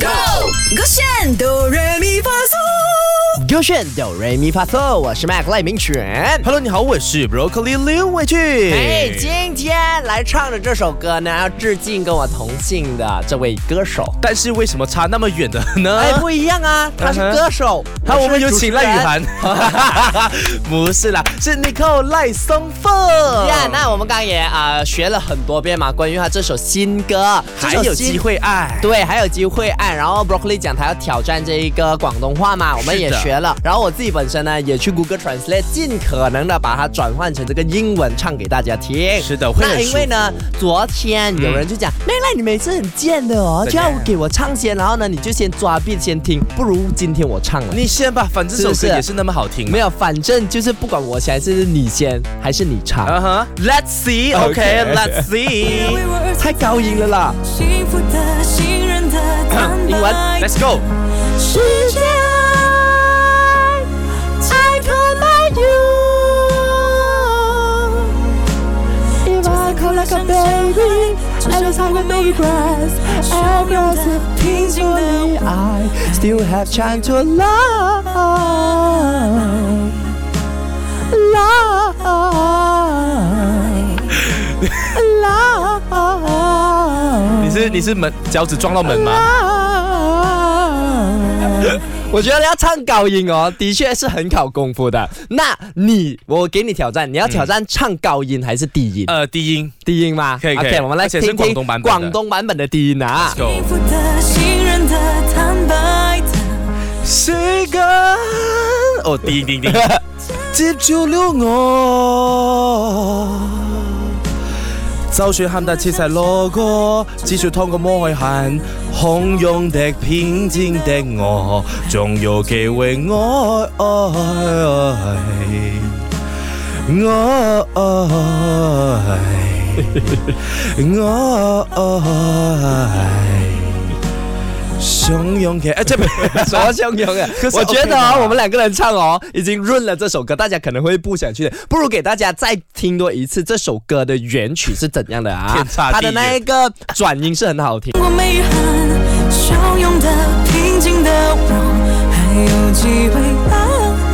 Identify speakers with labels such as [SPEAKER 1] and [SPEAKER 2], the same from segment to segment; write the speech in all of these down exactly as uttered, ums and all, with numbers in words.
[SPEAKER 1] Go， 勾选哆来咪发嗦，
[SPEAKER 2] 勾选哆来咪发嗦，我是 Mac 赖明全。
[SPEAKER 3] Hello， 你好，我是 Broccoli 刘伟俊。
[SPEAKER 2] 哎，今天来唱的这首歌呢，要致敬跟我同姓的这位歌手。
[SPEAKER 3] 但是为什么差那么远的呢？
[SPEAKER 2] 哎，不一样啊，他是歌手。
[SPEAKER 3] 好，我们有请赖雨涵。不是啦，是 Nicole 赖松凤。
[SPEAKER 2] 呀，那我们刚刚也啊、呃、学了很多遍嘛，关于他这首新歌，
[SPEAKER 3] 还有机会爱。
[SPEAKER 2] 对，还有机会爱。然后 Broccoli 讲他要挑战这一个广东话嘛，我们也学了。然后我自己本身呢，也去 Google Translate， 尽可能的把它转换成这个英文唱给大家听。
[SPEAKER 3] 是的，会很舒服。
[SPEAKER 2] 那因为呢，昨天有人就讲，妹赖、嗯、你每次很贱的哦，就要给我唱先，然后呢你就先抓 beat 先听，不如今天我唱了。
[SPEAKER 3] 你先吧，反正这首歌也是那么好听。
[SPEAKER 2] 没有，反正就是不管我先，还是你先，还是你唱。
[SPEAKER 3] 嗯哼 ，Let's see，OK，Let's see，
[SPEAKER 2] 太高音了啦。
[SPEAKER 1] 幸福的信任的坦白，
[SPEAKER 3] 英文 ，Let's go。
[SPEAKER 1] 世界I command you。If I call like a baby, I just have a baby grass. Aggressive, 平静的我
[SPEAKER 2] I still have time to love, love, love。
[SPEAKER 3] 你是你是门脚趾撞到门吗？
[SPEAKER 2] 我觉得要唱高音哦，的确是很考功夫的。那你，我给你挑战，你要挑战唱高音还是低音？
[SPEAKER 3] 呃，低音，
[SPEAKER 2] 低音吗？
[SPEAKER 3] 可以可以。
[SPEAKER 2] OK， 我们来听听
[SPEAKER 3] 广东版本的
[SPEAKER 2] 广东版本的低音啊。
[SPEAKER 1] 幸福的信任的坦白的
[SPEAKER 3] 是个哦，低音低音低音，接住了我。就算喊得切齊路過，只需通過摸去行，洶湧的平靜的我，仲有機會愛愛愛。汹涌的，哎，这不
[SPEAKER 2] 什么汹涌啊？我觉得哦，我们两个人唱哦，已经润了这首歌，大家可能会不想去的，不如给大家再听多一次这首歌的原曲是怎样的啊？
[SPEAKER 3] 天差地远，
[SPEAKER 2] 它的那一个转音是很好听。
[SPEAKER 1] 我没憾，汹涌的平静的我，还有机会爱。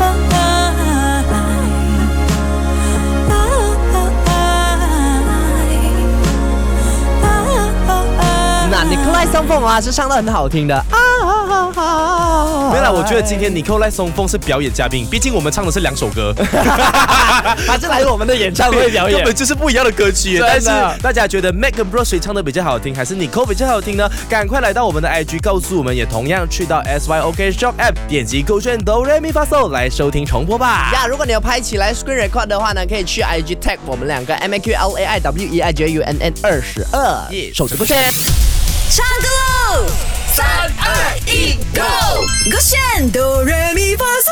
[SPEAKER 2] 那Nicole赖松凤啊，是唱得很好听的啊。
[SPEAKER 3] 没有啦，我觉得今天Nicole赖松凤是表演嘉宾，毕竟我们唱的是两首歌，
[SPEAKER 2] 他是来我们的演唱会表演，
[SPEAKER 3] 根本就是不一样的歌曲。但是大家觉得 Mac 跟 Bro 谁唱的比较好听，还是Nicole比较好听呢？赶快来到我们的 I G 告诉我们，也同样去到 S Y O K Shop App 点击勾选哆来咪发嗦来收听重播吧。
[SPEAKER 2] 呀，如果你要拍起来 Screen Record 的话呢，可以去 I G tag 我们两个 M A Q L A I W E I J U N N 二十二，手指不选。
[SPEAKER 1] 唱歌喽！三二一，Go！ 勾选哆来咪发嗦。